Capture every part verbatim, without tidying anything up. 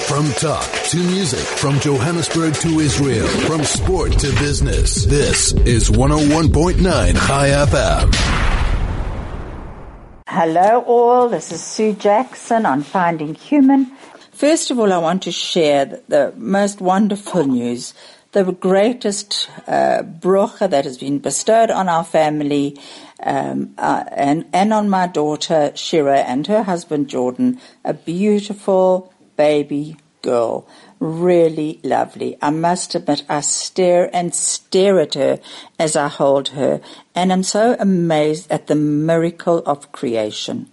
From talk to music, from Johannesburg to Israel, from sport to business, this is one oh one point nine Chai F M. Hello all, this is Sue Jackson on Finding Human. First of all, I want to share the, the most wonderful news, the greatest uh, bracha that has been bestowed on our family um, uh, and, and on my daughter Shira and her husband Jordan, a beautiful baby girl, really lovely. I must admit, I stare and stare at her as I hold her, and I'm so amazed at the miracle of creation.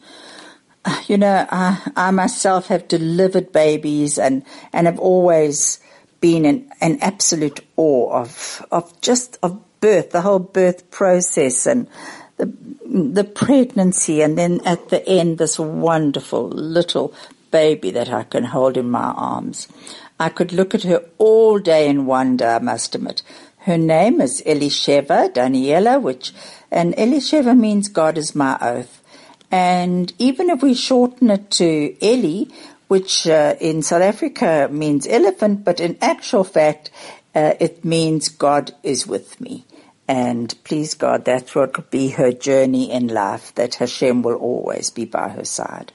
You know, I, I myself have delivered babies and, and have always been in an absolute awe of of just of birth, the whole birth process and the the pregnancy, and then at the end this wonderful little baby that I can hold in my arms. I could look at her all day in wonder, I must admit. Her name is Elisheva Daniela, which, and Elisheva means God is my oath. And even if we shorten it to Eli, which uh, in South Africa means elephant, but in actual fact, uh, it means God is with me. And please God, that's what will be her journey in life, that Hashem will always be by her side.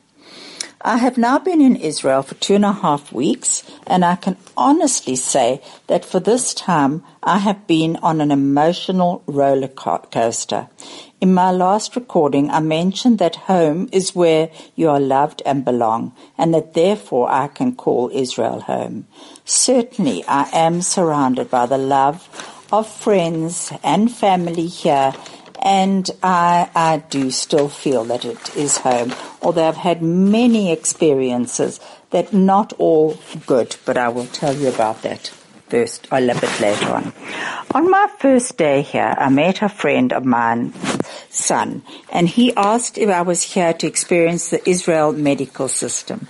I have now been in Israel for two and a half weeks, and I can honestly say that for this time I have been on an emotional roller coaster. In my last recording, I mentioned that home is where you are loved and belong, and that therefore I can call Israel home. Certainly, I am surrounded by the love of friends and family here, and I, I do still feel that it is home, although I've had many experiences that not all good, but I will tell you about that first, a little bit later on. On my first day here, I met a friend of mine, son, and he asked if I was here to experience the Israel medical system.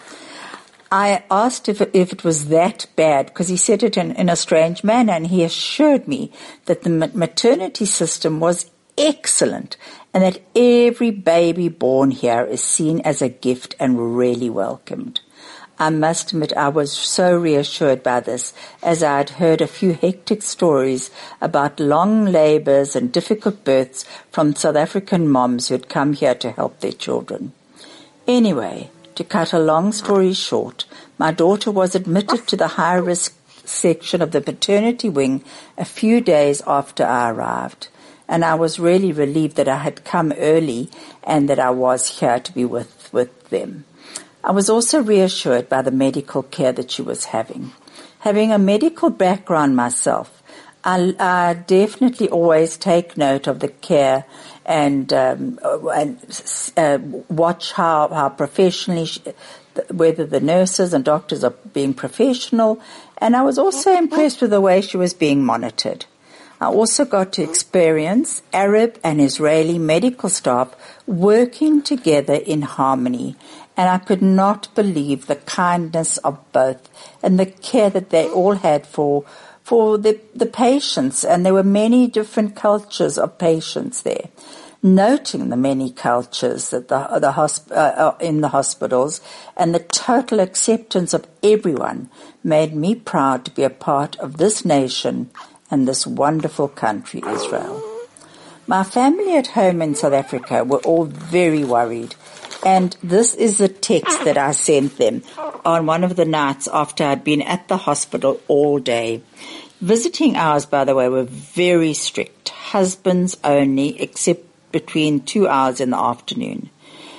I asked if it, if it was that bad, because he said it in, in a strange manner, and he assured me that the maternity system was excellent and that every baby born here is seen as a gift and really welcomed. I must admit I was so reassured by this, as I had heard a few hectic stories about long labors and difficult births from South African moms who had come here to help their children. Anyway, to cut a long story short, my daughter was admitted to the high-risk section of the maternity wing a few days after I arrived, and I was really relieved that I had come early and that I was here to be with, with them. I was also reassured by the medical care that she was having. Having a medical background myself, I, I definitely always take note of the care and, um, and uh, watch how, how professionally, she, whether the nurses and doctors are being professional. And I was also impressed with the way she was being monitored. I also got to experience Arab and Israeli medical staff working together in harmony, and I could not believe the kindness of both and the care that they all had for for the, the patients, and there were many different cultures of patients there. Noting the many cultures that the, the hosp- uh, in the hospitals and the total acceptance of everyone made me proud to be a part of this nation and this wonderful country, Israel. My family at home in South Africa were all very worried, and this is the text that I sent them on one of the nights after I'd been at the hospital all day. Visiting hours, by the way, were very strict, husbands only, except between two hours in the afternoon.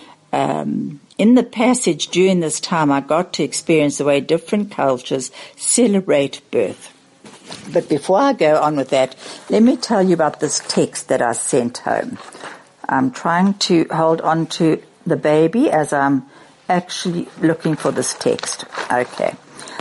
Um, in the passage during this time, I got to experience the way different cultures celebrate birth. But before I go on with that, let me tell you about this text that I sent home. I'm trying to hold on to the baby as I'm actually looking for this text. Okay.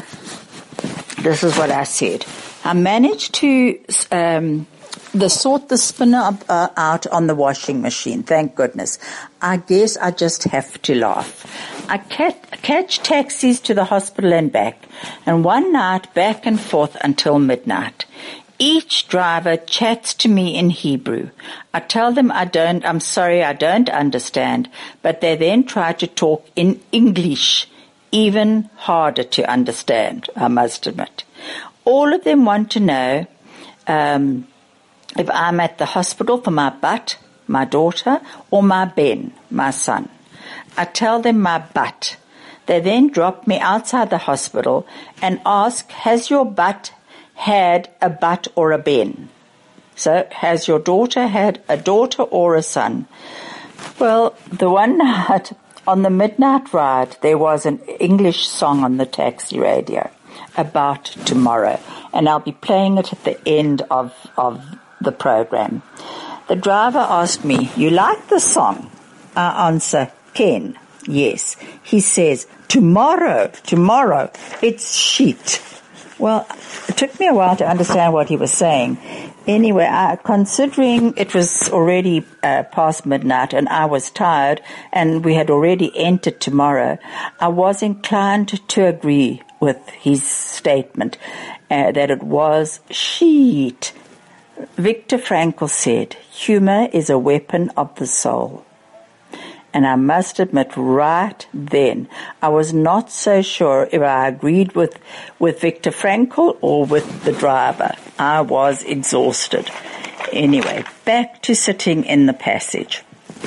This is what I said. I managed to um, the sort the spinner uh, out on the washing machine, thank goodness. I guess I just have to laugh. I cat, catch taxis to the hospital and back, and one night back and forth until midnight. Each driver chats to me in Hebrew. I tell them I don't, I'm sorry, I don't understand, but they then try to talk in English even harder to understand, I must admit. All of them want to know um, if I'm at the hospital for my bat, my daughter, or my Ben, my son. I tell them my bat. They then drop me outside the hospital and ask, has your bat had a bat or a Ben? So, has your daughter had a daughter or a son? Well, the one night on the midnight ride, there was an English song on the taxi radio about tomorrow, and I'll be playing it at the end of, of the program. The driver asked me, you like the song? I answer, Ken, yes. He says, tomorrow, tomorrow, it's sheet. Well, it took me a while to understand what he was saying. Anyway, I, considering it was already uh, past midnight and I was tired and we had already entered tomorrow, I was inclined to agree with his statement uh, that it was sheet. Viktor Frankl said, humor is a weapon of the soul. And I must admit, right then, I was not so sure if I agreed with, with Viktor Frankl or with the driver. I was exhausted. Anyway, back to sitting in the passage.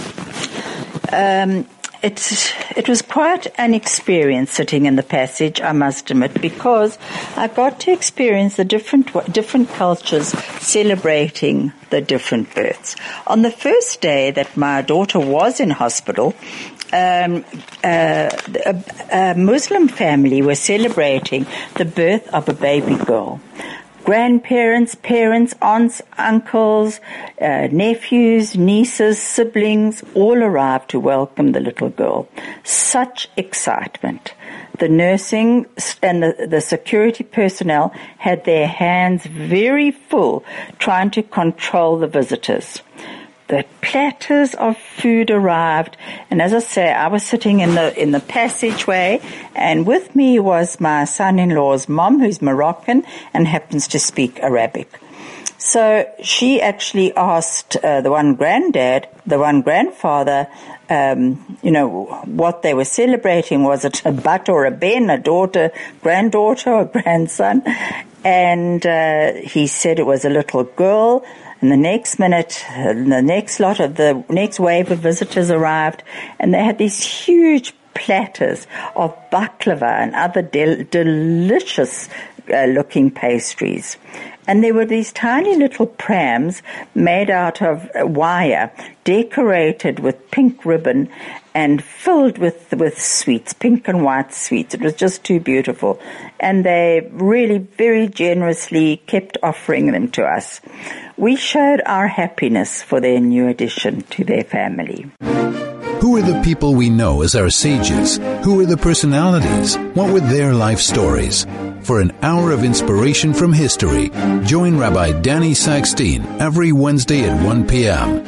Um, It, it was quite an experience sitting in the passage, I must admit, because I got to experience the different different cultures celebrating the different births. On the first day that my daughter was in hospital, um, uh, a, a Muslim family were celebrating the birth of a baby girl. Grandparents, parents, aunts, uncles, uh, nephews, nieces, siblings, all arrived to welcome the little girl. Such excitement. The nursing and the, the security personnel had their hands very full trying to control the visitors. The platters of food arrived, and as I say, I was sitting in the in the passageway, and with me was my son-in-law's mom, who's Moroccan and happens to speak Arabic. So she actually asked uh, the one granddad, the one grandfather, um, you know, what they were celebrating. Was it a bat or a ben, a daughter, granddaughter, or grandson? And uh, he said it was a little girl. And the next minute, the next lot of the next wave of visitors arrived, and they had these huge platters of baklava and other del- delicious uh, looking pastries. And there were these tiny little prams made out of wire, decorated with pink ribbon and filled with, with sweets, pink and white sweets. It was just too beautiful. And they really very generously kept offering them to us. We showed our happiness for their new addition to their family. Who are the people we know as our sages? Who are the personalities? What were their life stories? For an hour of inspiration from history, join Rabbi Danny Saxteen every Wednesday at one p.m.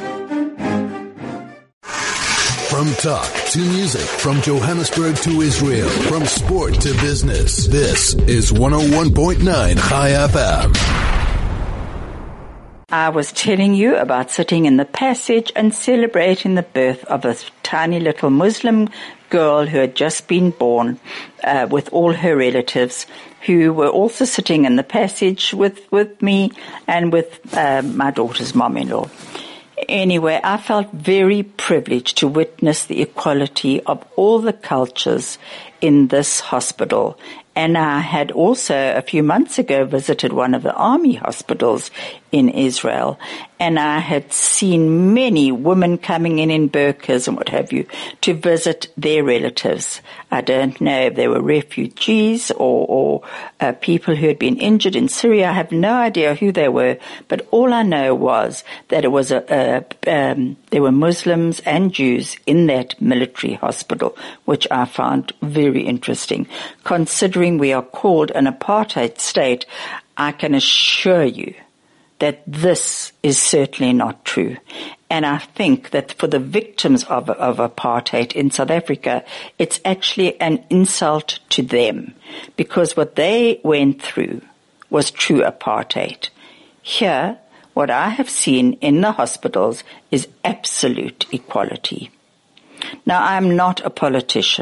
From talk to music, from Johannesburg to Israel, from sport to business, this is one oh one point nine Chai F M. I was telling you about sitting in the passage and celebrating the birth of a tiny little Muslim girl who had just been born uh, with all her relatives, who were also sitting in the passage with, with me and with uh, my daughter's mom-in-law. Anyway, I felt very privileged to witness the equality of all the cultures in this hospital. And I had also, a few months ago, visited one of the army hospitals in Israel, and I had seen many women coming in in burqas and what have you to visit their relatives. I don't know if they were refugees or, or uh, people who had been injured in Syria. I have no idea who they were, but all I know was that it was a, a um, there were Muslims and Jews in that military hospital, which I found very interesting. Considering we are called an apartheid state, I can assure you that this is certainly not true. And I think that for the victims of, of apartheid in South Africa, it's actually an insult to them, because what they went through was true apartheid. Here, what I have seen in the hospitals is absolute equality. Now, I'm not a politician,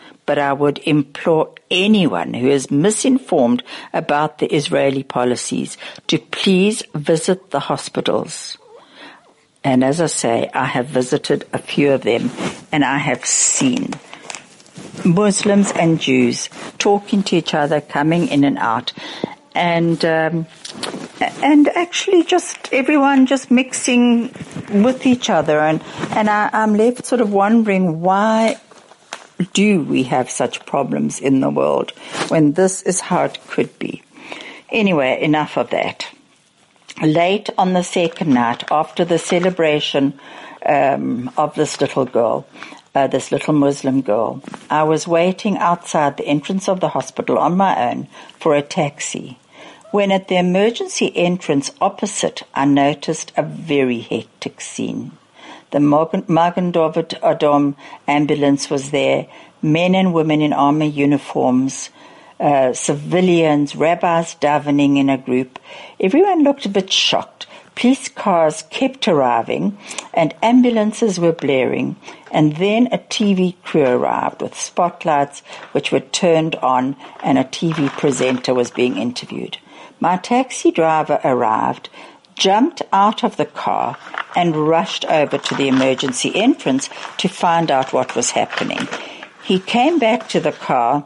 but I would implore anyone who is misinformed about the Israeli policies to please visit the hospitals. And as I say, I have visited a few of them, and I have seen Muslims and Jews talking to each other, coming in and out, and um, and actually just everyone just mixing with each other. And, and I, I'm left sort of wondering, why do we have such problems in the world when this is how it could be? Anyway, enough of that. Late on the second night, after the celebration um, of this little girl, uh, this little Muslim girl, I was waiting outside the entrance of the hospital on my own for a taxi, when at the emergency entrance opposite, I noticed a very hectic scene. The Magen David Adom ambulance was there, men and women in army uniforms, uh, civilians, rabbis davening in a group. Everyone looked a bit shocked. Police cars kept arriving and ambulances were blaring, and then a T V crew arrived with spotlights which were turned on, and a T V presenter was being interviewed. My taxi driver arrived, jumped out of the car and rushed over to the emergency entrance to find out what was happening. He came back to the car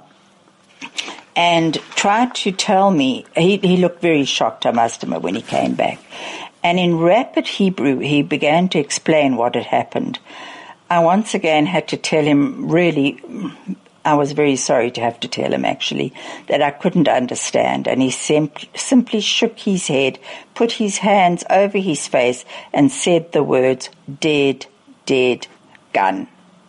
and tried to tell me, he, he looked very shocked, I must admit, when he came back. And in rapid Hebrew, he began to explain what had happened. I once again had to tell him, really, I was very sorry to have to tell him, actually, that I couldn't understand. And he sim- simply shook his head, put his hands over his face, and said the words, dead, dead, gun.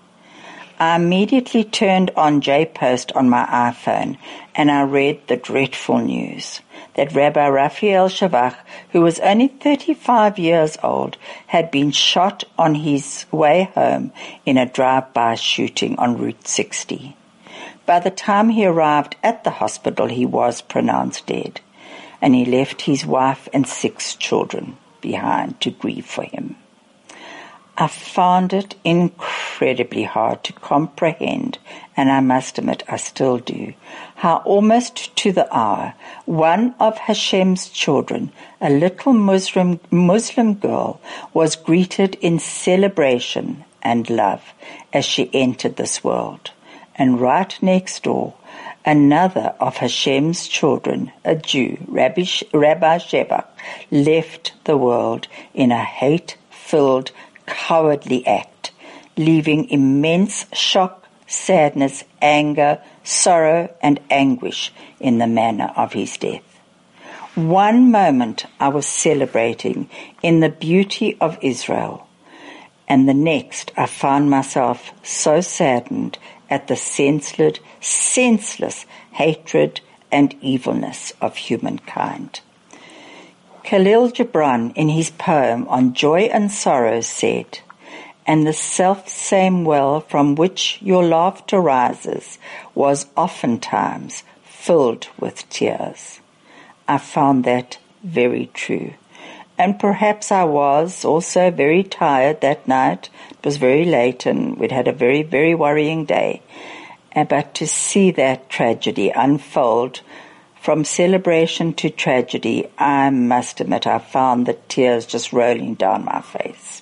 I immediately turned on J-Post on my iPhone, and I read the dreadful news that Rabbi Raphael Shavach, who was only thirty-five years old, had been shot on his way home in a drive-by shooting on Route sixty. By the time he arrived at the hospital, he was pronounced dead, and he left his wife and six children behind to grieve for him. I found it incredibly hard to comprehend, and I must admit I still do, how almost to the hour one of Hashem's children, a little Muslim, Muslim girl, was greeted in celebration and love as she entered this world. And right next door, another of Hashem's children, a Jew, Rabbi, Rabbi Shebach, left the world in a hate-filled, cowardly act, leaving immense shock, sadness, anger, sorrow, and anguish in the manner of his death. One moment I was celebrating in the beauty of Israel, and the next I found myself so saddened at the senseless, senseless hatred and evilness of humankind. Khalil Gibran, in his poem on Joy and Sorrow, said, "And the self-same well from which your laughter rises was oftentimes filled with tears." I found that very true. And perhaps I was also very tired that night. It was very late and we'd had a very, very worrying day. But to see that tragedy unfold from celebration to tragedy, I must admit I found the tears just rolling down my face.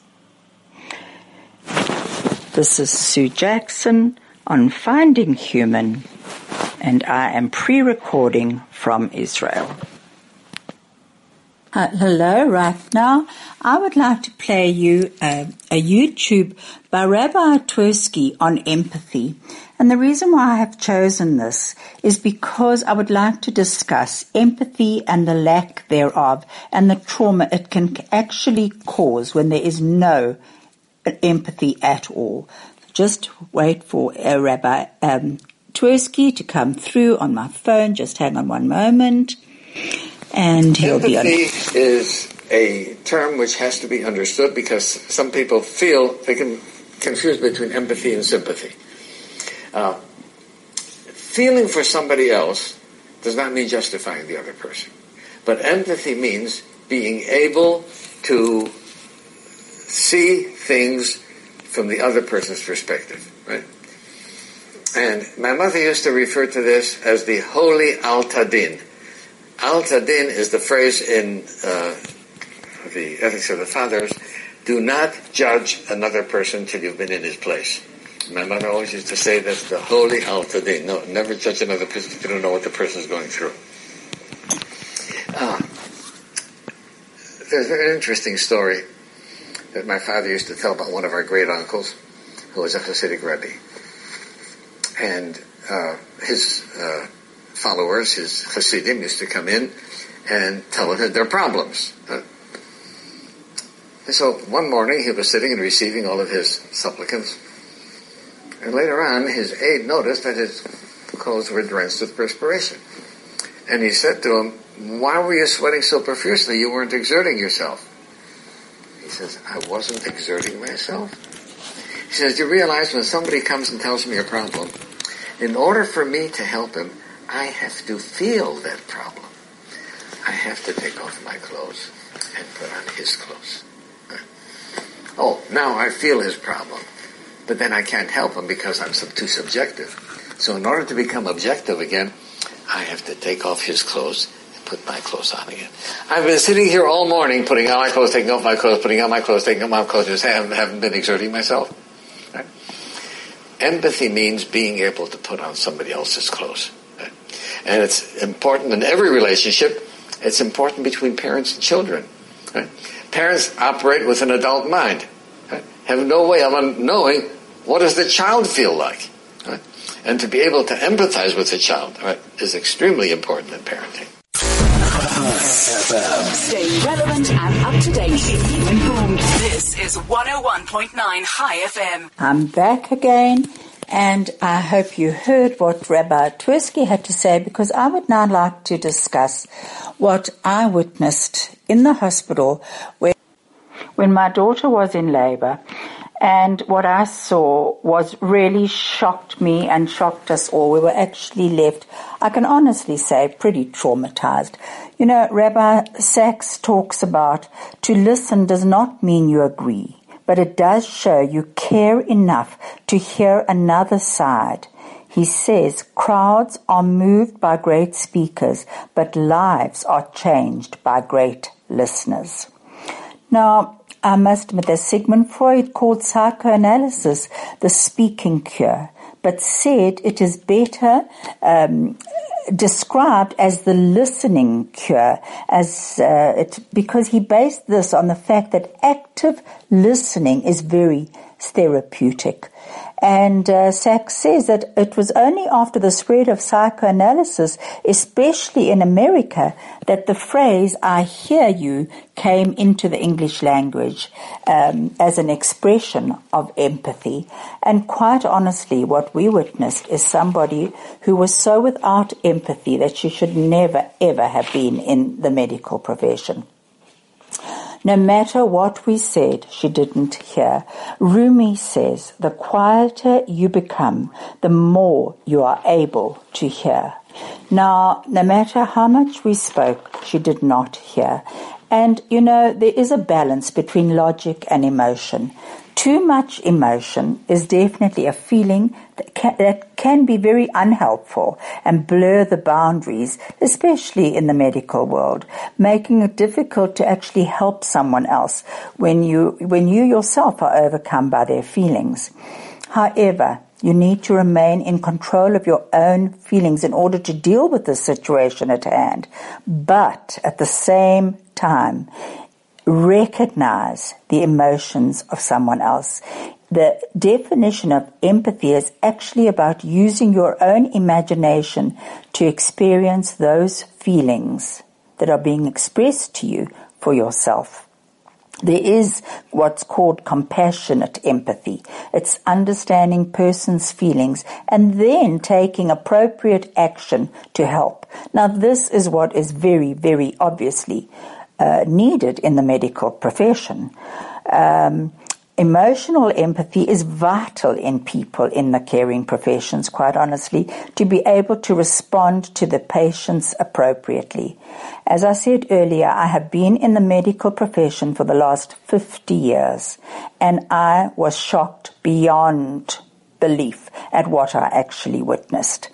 This is Sue Jackson on Finding Human, and I am pre-recording from Israel. Uh, hello, right now I would like to play you a, a YouTube by Rabbi Twersky on empathy. And the reason why I have chosen this is because I would like to discuss empathy and the lack thereof and the trauma it can actually cause when there is no empathy at all. Just wait for uh, Rabbi um, Twersky to come through on my phone. Just hang on one moment. And he'll empathy be on. is a term which has to be understood because some people feel they can confuse between empathy and sympathy. Uh, feeling for somebody else does not mean justifying the other person. But empathy means being able to see things from the other person's perspective, right? And my mother used to refer to this as the holy Al-Tadin. Al-Tadin is the phrase in uh, the Ethics of the Fathers, do not judge another person till you've been in his place. My mother always used to say that's the holy Al-Tadin. No, never judge another person if you don't know what the person is going through. Uh, there's an interesting story that my father used to tell about one of our great uncles who was a Hasidic Rebbe. And uh, his uh, followers, his Hasidim, used to come in and tell him their problems. Uh, and so one morning he was sitting and receiving all of his supplicants. And later on, his aide noticed that his clothes were drenched with perspiration. And he said to him, why were you sweating so profusely? You weren't exerting yourself. He says, I wasn't exerting myself. He says, you realize when somebody comes and tells me a problem, in order for me to help him, I have to feel that problem. I have to take off my clothes and put on his clothes. Oh, now I feel his problem. But then I can't help him because I'm too subjective. So in order to become objective again, I have to take off his clothes and put my clothes on again. I've been sitting here all morning putting on my clothes, taking off my clothes, putting on my clothes, taking off my clothes, just haven't, haven't been exerting myself. Right? Empathy means being able to put on somebody else's clothes. Right? And it's important in every relationship. It's important between parents and children. Right? Parents operate with an adult mind. Right? Have no way of knowing what does the child feel like. Right? And to be able to empathize with the child, right, is extremely important in parenting. Stay relevant and up to date. Keep you informed. This is one oh one point nine High F M. I'm back again, and I hope you heard what Rabbi Twersky had to say, because I would now like to discuss what I witnessed in the hospital where, when my daughter was in labor. And what I saw was really shocked me and shocked us all. We were actually left, I can honestly say, pretty traumatized. You know, Rabbi Sachs talks about to listen does not mean you agree, but it does show you care enough to hear another side. He says, crowds are moved by great speakers, but lives are changed by great listeners. Now, I must admit that Sigmund Freud called psychoanalysis the speaking cure, but said it is better um, described as the listening cure, as uh, it, because he based this on the fact that active listening is very therapeutic. And uh, Sachs says that it was only after the spread of psychoanalysis, especially in America, that the phrase, I hear you, came into the English language um, as an expression of empathy. And quite honestly, what we witnessed is somebody who was so without empathy that she should never, ever have been in the medical profession. No matter what we said, she didn't hear. Rumi says, the quieter you become, the more you are able to hear. Now, no matter how much we spoke, she did not hear. And, you know, there is a balance between logic and emotion. Too much emotion is definitely a feeling that can, that can be very unhelpful and blur the boundaries, especially in the medical world, making it difficult to actually help someone else when you, when you yourself are overcome by their feelings. However, you need to remain in control of your own feelings in order to deal with the situation at hand. But at the same time, recognize the emotions of someone else. The definition of empathy is actually about using your own imagination to experience those feelings that are being expressed to you for yourself. There is what's called compassionate empathy. It's understanding person's feelings and then taking appropriate action to help. Now, this is what is very, very obviously Uh, needed in the medical profession. Um, emotional empathy is vital in people in the caring professions, quite honestly, to be able to respond to the patients appropriately. As I said earlier, I have been in the medical profession for the last fifty years, and I was shocked beyond disbelief at what I actually witnessed.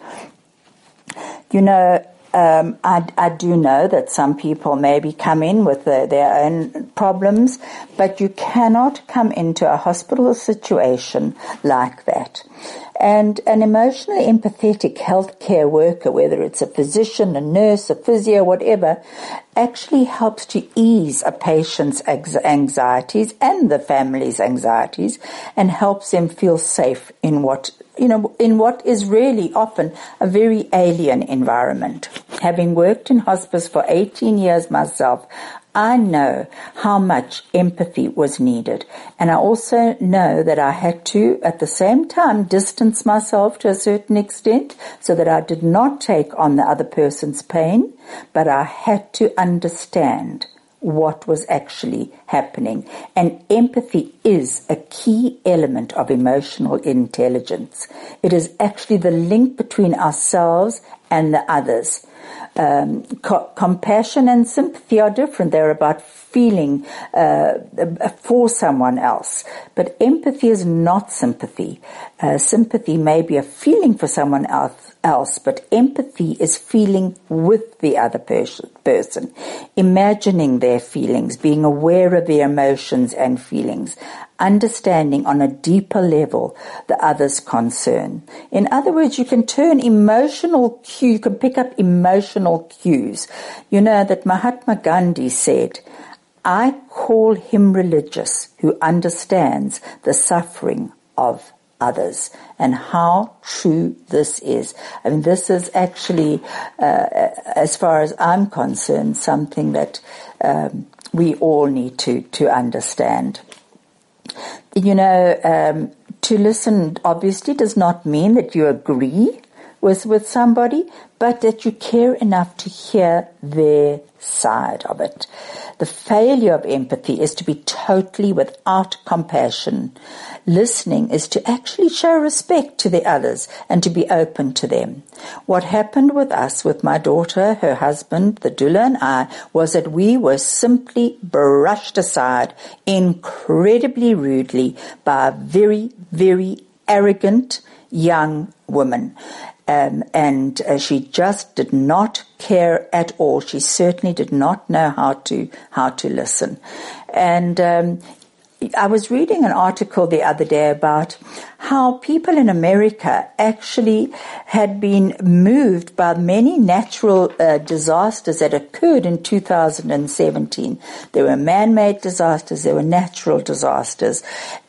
You know, um, I, I do know that some people maybe come in with the, their own problems, but you cannot come into a hospital situation like that. And an emotionally empathetic healthcare worker, whether it's a physician, a nurse, a physio, whatever, actually helps to ease a patient's anxieties and the family's anxieties and helps them feel safe in what, you know, in what is really often a very alien environment. Having worked in hospice for eighteen years myself, I know how much empathy was needed, and I also know that I had to, at the same time, distance myself to a certain extent so that I did not take on the other person's pain, but I had to understand what was actually happening. And empathy is a key element of emotional intelligence. It is actually the link between ourselves and the others. Um, co- compassion and sympathy are different. They're about feeling uh, for someone else. But empathy is not sympathy. Uh, sympathy may be a feeling for someone else, else, but empathy is feeling with the other pers- person, imagining their feelings, being aware of their emotions and feelings, understanding on a deeper level the other's concern. In other words, you can turn emotional cue, you can pick up emotional cues. You know that Mahatma Gandhi said, I call him religious who understands the suffering of others, and how true this is. I mean, this is actually, uh, as far as I'm concerned, something that um, we all need to, to understand. You know, um, to listen obviously does not mean that you agree with, with somebody, but that you care enough to hear their side of it. The failure of empathy is to be totally without compassion. Listening is to actually show respect to the others and to be open to them. What happened with us, with my daughter, her husband, the doula, and I, was that we were simply brushed aside incredibly rudely by a very, very arrogant young woman. Um, and uh, she just did not care at all. She certainly did not know how to how to listen. And um, I was reading an article the other day about how people in America actually had been moved by many natural uh, disasters that occurred in two thousand seventeen. There were man-made disasters, there were natural disasters.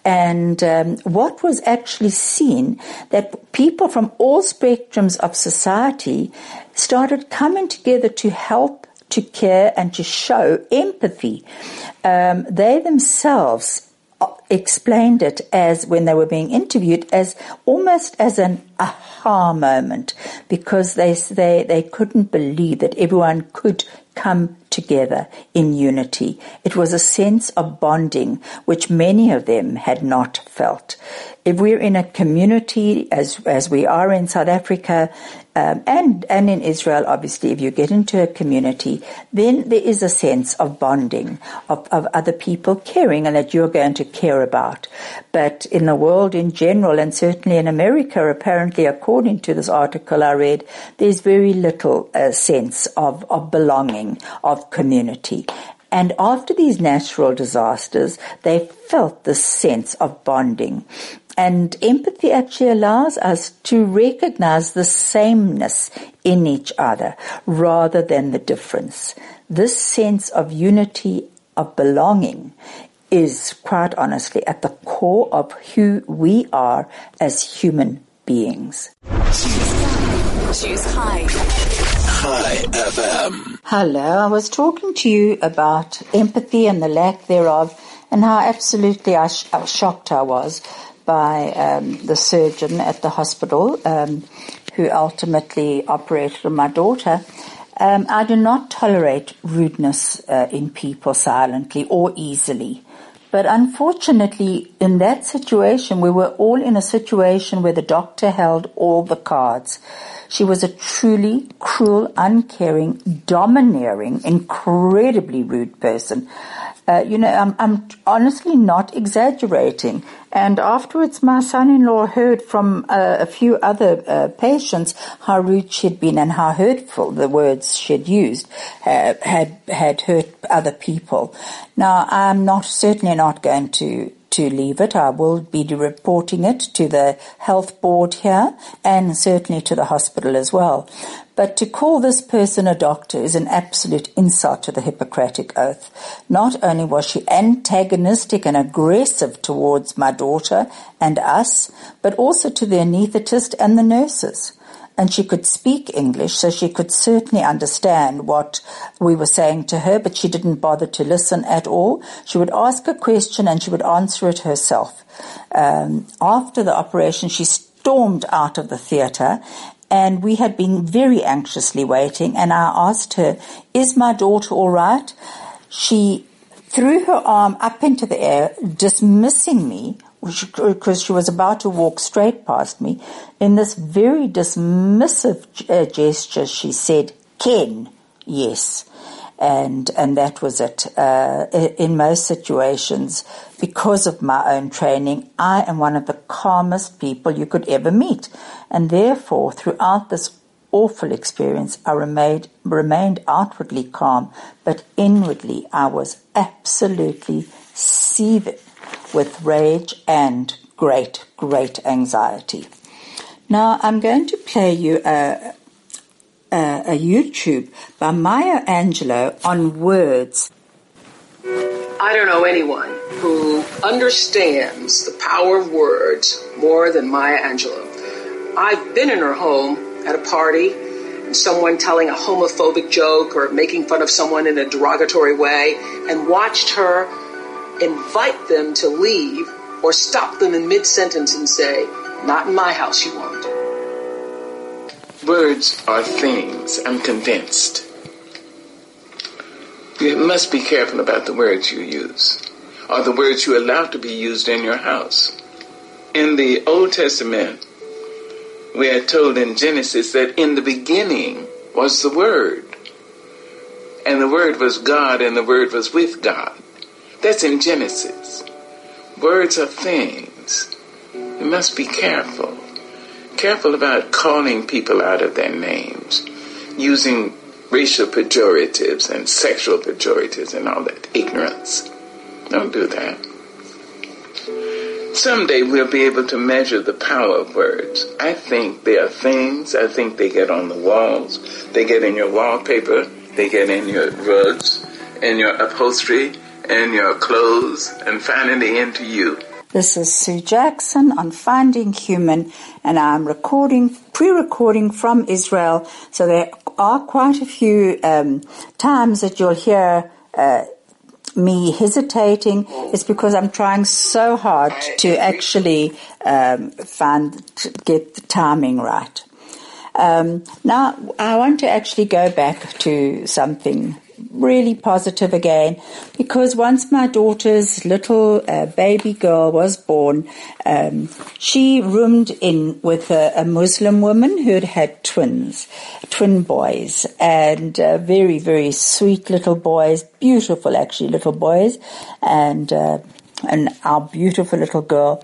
And um, what was actually seen, that people from all spectrums of society started coming together to help, to care, and to show empathy. Um, they themselves explained it as, when they were being interviewed, as almost as an aha moment, because they they they couldn't believe that everyone could come together in unity. It was a sense of bonding which many of them had not felt. If we're in a community, as as we are in South Africa, um, and and in Israel, obviously, if you get into a community, then there is a sense of bonding, of, of other people caring and that you're going to care about. But in the world in general, and certainly in America, apparently, according to this article I read, there's very little uh, sense of, of belonging, of community. And after these natural disasters, they felt this sense of bonding. And empathy actually allows us to recognize the sameness in each other rather than the difference. This sense of unity, of belonging, is quite honestly at the core of who we are as human beings. Choose High. High F M. Hello, I was talking to you about empathy and the lack thereof, and how absolutely I sh- how shocked I was by um, the surgeon at the hospital um, who ultimately operated on my daughter. Um, I do not tolerate rudeness uh, in people silently or easily. But unfortunately, in that situation, we were all in a situation where the doctor held all the cards. She was a truly cruel, uncaring, domineering, incredibly rude person. Uh, you know, I'm, I'm honestly not exaggerating. And afterwards, my son-in-law heard from uh, a few other uh, patients how rude she'd been and how hurtful the words she'd used uh, had had hurt other people. Now, I'm not certainly not going to to leave it. I will be reporting it to the health board here and certainly to the hospital as well. But to call this person a doctor is an absolute insult to the Hippocratic Oath. Not only was she antagonistic and aggressive towards my daughter and us, but also to the anaesthetist and the nurses. And she could speak English, so she could certainly understand what we were saying to her, but she didn't bother to listen at all. She would ask a question and she would answer it herself. Um, after the operation, she stormed out of the theatre, and we had been very anxiously waiting, and I asked her, "Is my daughter all right?" She threw her arm up into the air, dismissing me, because she was about to walk straight past me. In this very dismissive uh, gesture, she said, "Ken, yes." And and that was it. Uh, in most situations, because of my own training, I am one of the calmest people you could ever meet. And therefore, throughout this awful experience, I remained, remained outwardly calm, but inwardly I was absolutely seething with rage and great, great anxiety. Now, I'm going to play you a, a, a YouTube by Maya Angelou on words. I don't know anyone who understands the power of words more than Maya Angelou. I've been in her home at a party, and someone telling a homophobic joke or making fun of someone in a derogatory way, and watched her invite them to leave or stop them in mid-sentence and say, "Not in my house, you won't." Words are things, I'm convinced. You must be careful about the words you use, or the words you allow to be used in your house. In the Old Testament, we are told in Genesis that in the beginning was the Word, and the Word was God, and the Word was with God. That's in Genesis. Words are things. You must be careful. Careful about calling people out of their names, using racial pejoratives and sexual pejoratives and all that ignorance. Don't do that. Someday we'll be able to measure the power of words. I think they are things. I think they get on the walls. They get in your wallpaper. They get in your rugs, in your upholstery, in your clothes, and finally into you. This is Sue Jackson on Finding Human, and I'm recording, pre-recording from Israel, so there are quite a few um, times that you'll hear uh, me hesitating. It's because I'm trying so hard to actually um, find, to get the timing right. Um, now, I want to actually go back to something really positive again, because once my daughter's little uh, baby girl was born, um, she roomed in with a, a Muslim woman who had had twins, twin boys, and uh, very, very sweet little boys, beautiful actually little boys, and uh, and our beautiful little girl.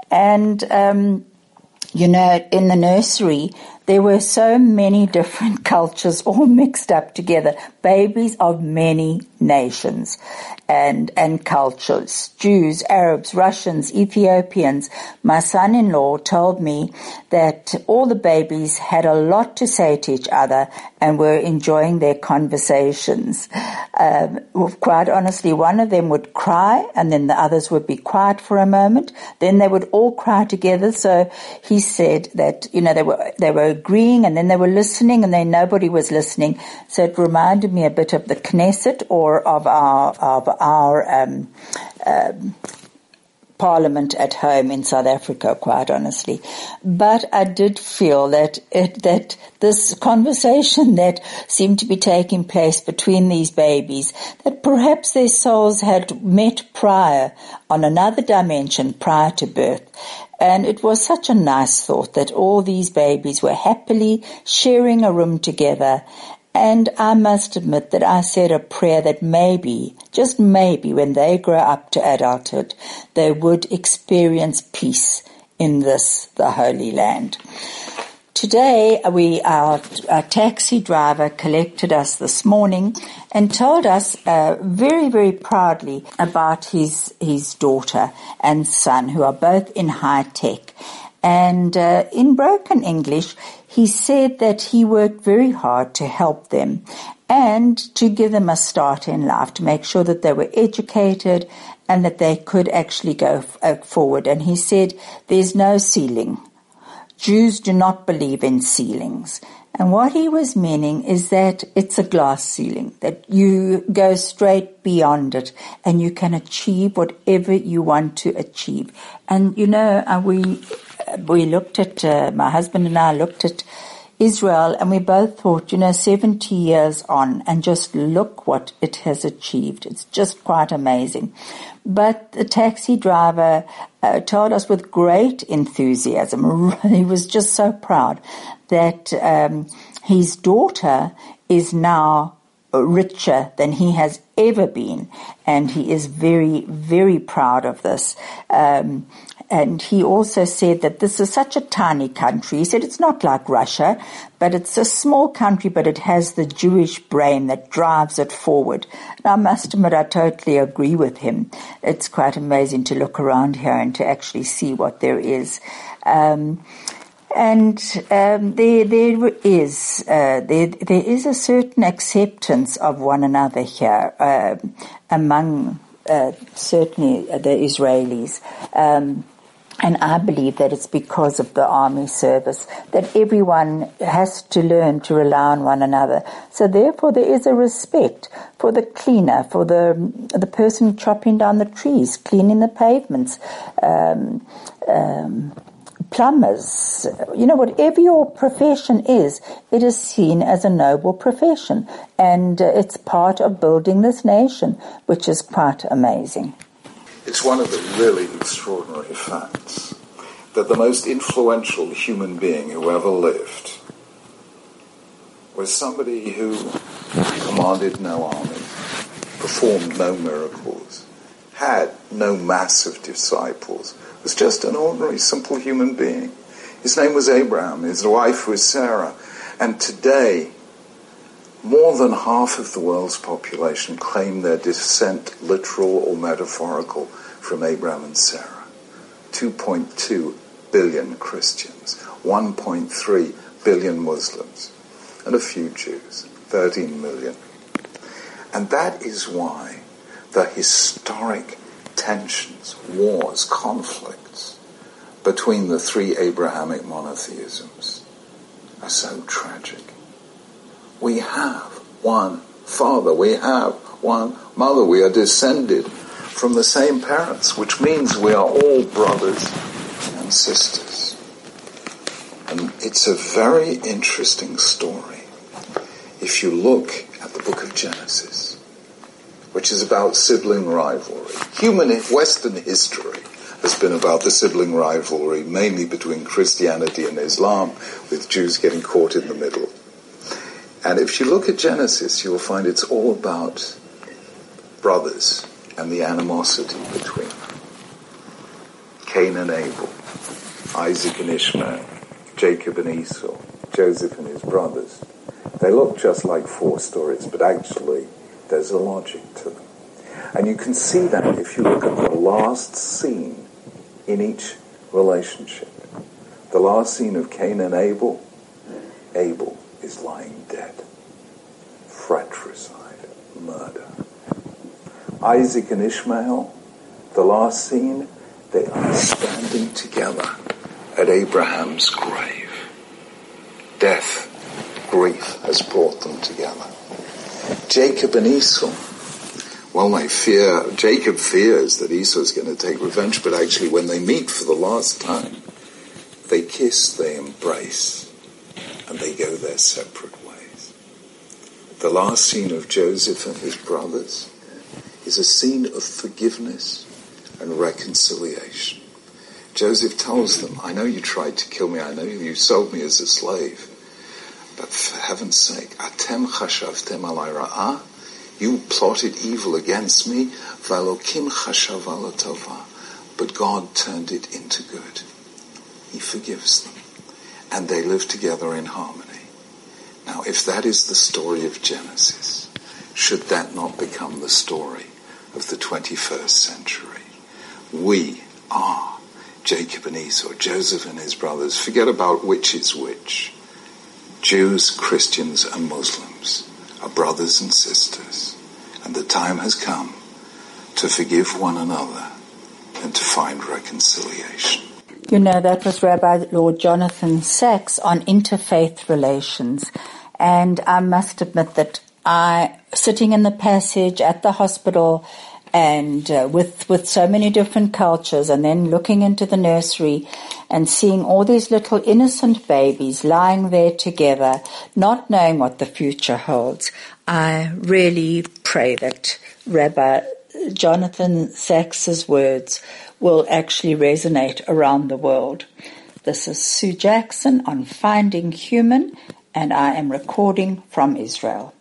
And um, you know, in the nursery, there were so many different cultures all mixed up together, babies of many nations and and cultures, Jews, Arabs, Russians, Ethiopians. My son-in-law told me that all the babies had a lot to say to each other and were enjoying their conversations. Um, quite honestly, one of them would cry and then the others would be quiet for a moment. Then they would all cry together. So he said that, you know, they were they were agreeing and then they were listening and then nobody was listening. So it reminded me a bit of the Knesset or of our of our um, um, parliament at home in South Africa, quite honestly. But I did feel that it, that this conversation that seemed to be taking place between these babies, that perhaps their souls had met prior on another dimension prior to birth. And it was such a nice thought that all these babies were happily sharing a room together And I must admit that I said a prayer that maybe, just maybe, when they grow up to adulthood, they would experience peace in this, the Holy Land. Today, we, our, our taxi driver collected us this morning and told us uh, very, very proudly about his his daughter and son, who are both in high tech. And uh, in broken English, he said that he worked very hard to help them and to give them a start in life, to make sure that they were educated and that they could actually go f- uh, forward. And he said, there's no ceiling. Jews do not believe in ceilings. And what he was meaning is that it's a glass ceiling, that you go straight beyond it and you can achieve whatever you want to achieve. And, you know, uh, we we looked at, uh, my husband and I looked at Israel, and we both thought, you know, seventy years on, and just look what it has achieved. It's just quite amazing. But the taxi driver uh, told us with great enthusiasm, he was just so proud, that um, his daughter is now richer than he has ever been, and he is very, very proud of this. Um, And he also said that this is such a tiny country. He said it's not like Russia, but it's a small country, but it has the Jewish brain that drives it forward. And I must admit, I totally agree with him. It's quite amazing to look around here and to actually see what there is. Um, and um, there, there is uh, there, there is a certain acceptance of one another here uh, among uh, certainly the Israelis. Um, And I believe that it's because of the army service that everyone has to learn to rely on one another. So therefore there is a respect for the cleaner, for the the person chopping down the trees, cleaning the pavements, um, um, plumbers. You know, whatever your profession is, it is seen as a noble profession. And uh, it's part of building this nation, which is quite amazing. It's one of the really extraordinary facts that the most influential human being who ever lived was somebody who commanded no army, performed no miracles, had no massive disciples, was just an ordinary, simple human being. His name was Abraham, his wife was Sarah, and today more than half of the world's population claim their descent, literal or metaphorical, from Abraham and Sarah. two point two billion Christians, one point three billion Muslims, and a few Jews, thirteen million. And that is why the historic tensions, wars, conflicts between the three Abrahamic monotheisms are so tragic. We have one father, we have one mother, we are descended from the same parents, which means we are all brothers and sisters. And it's a very interesting story if you look at the book of Genesis, which is about sibling rivalry. Human Western history has been about the sibling rivalry, mainly between Christianity and Islam, with Jews getting caught in the middle. And if you look at Genesis, you will find it's all about brothers and the animosity between them. Cain and Abel, Isaac and Ishmael, Jacob and Esau, Joseph and his brothers. They look just like four stories, but actually there's a logic to them. And you can see that if you look at the last scene in each relationship. The last scene of Cain and Abel, Abel is lying dead. Fratricide, murder. Isaac and Ishmael, the last scene, they are standing together at Abraham's grave. Death, grief has brought them together. Jacob and Esau, well, they fear, Jacob fears that Esau is going to take revenge, but actually when they meet for the last time, they kiss, they embrace, and they go their separate ways. The last scene of Joseph and his brothers is a scene of forgiveness and reconciliation. Joseph tells them, I know you tried to kill me, I know you sold me as a slave, But for heaven's sake, atem chashavtem alai ra'ah, you plotted evil against me, v'Elokim chashav ala tova, but God turned it into good. He forgives them, and they live together in harmony. Now, if that is the story of Genesis, should that not become the story of the twenty-first century? We are Jacob and Esau, Joseph and his brothers. Forget about which is which. Jews, Christians, and Muslims are brothers and sisters, and the time has come to forgive one another and to find reconciliation. You know, that was Rabbi Lord Jonathan Sacks on interfaith relations. And I must admit that I, sitting in the passage at the hospital and uh, with with so many different cultures, and then looking into the nursery and seeing all these little innocent babies lying there together, not knowing what the future holds, I really pray that Rabbi Jonathan Sacks's words will actually resonate around the world. This is Sue Jackson on Finding Human, and I am recording from Israel.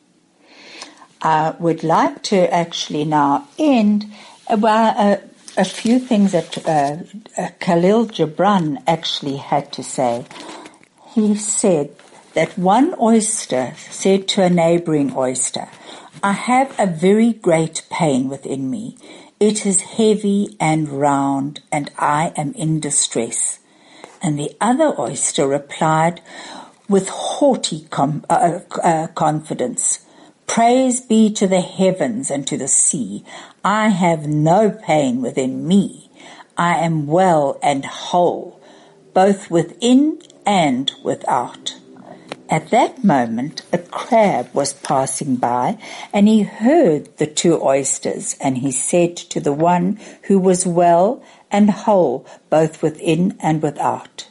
I would like to actually now end about a, a few things that uh, uh, Khalil Gibran actually had to say. He said that one oyster said to a neighboring oyster, "I have a very great pain within me. It is heavy and round, and I am in distress." And the other oyster replied with haughty com- uh, uh, confidence, "Praise be to the heavens and to the sea. I have no pain within me. I am well and whole, both within and without." At that moment, a crab was passing by, and he heard the two oysters, and he said to the one who was well and whole, both within and without,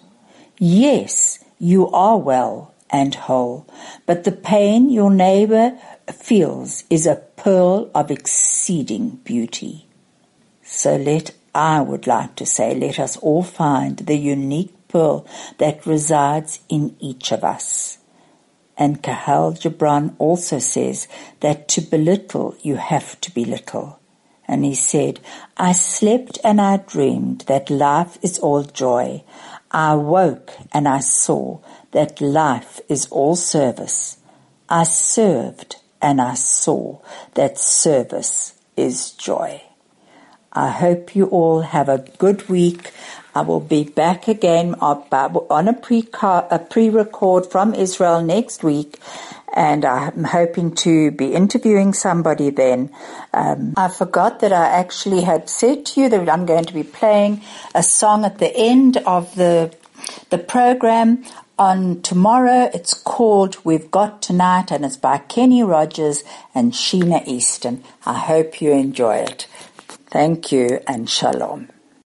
"Yes, you are well and whole, but the pain your neighbor feels is a pearl of exceeding beauty." So let, I would like to say, let us all find the unique pearl that resides in each of us. And Khalil Gibran also says that to belittle, you have to be little. And he said, "I slept and I dreamed that life is all joy. I woke and I saw that life is all service. I served and I saw that service is joy." I hope you all have a good week. I will be back again on a pre-record from Israel next week, and I'm hoping to be interviewing somebody then. Um, I forgot that I actually had said to you that I'm going to be playing a song at the end of the the program on tomorrow. It's called We've Got Tonight, and it's by Kenny Rogers and Sheena Easton. I hope you enjoy it. Thank you and shalom.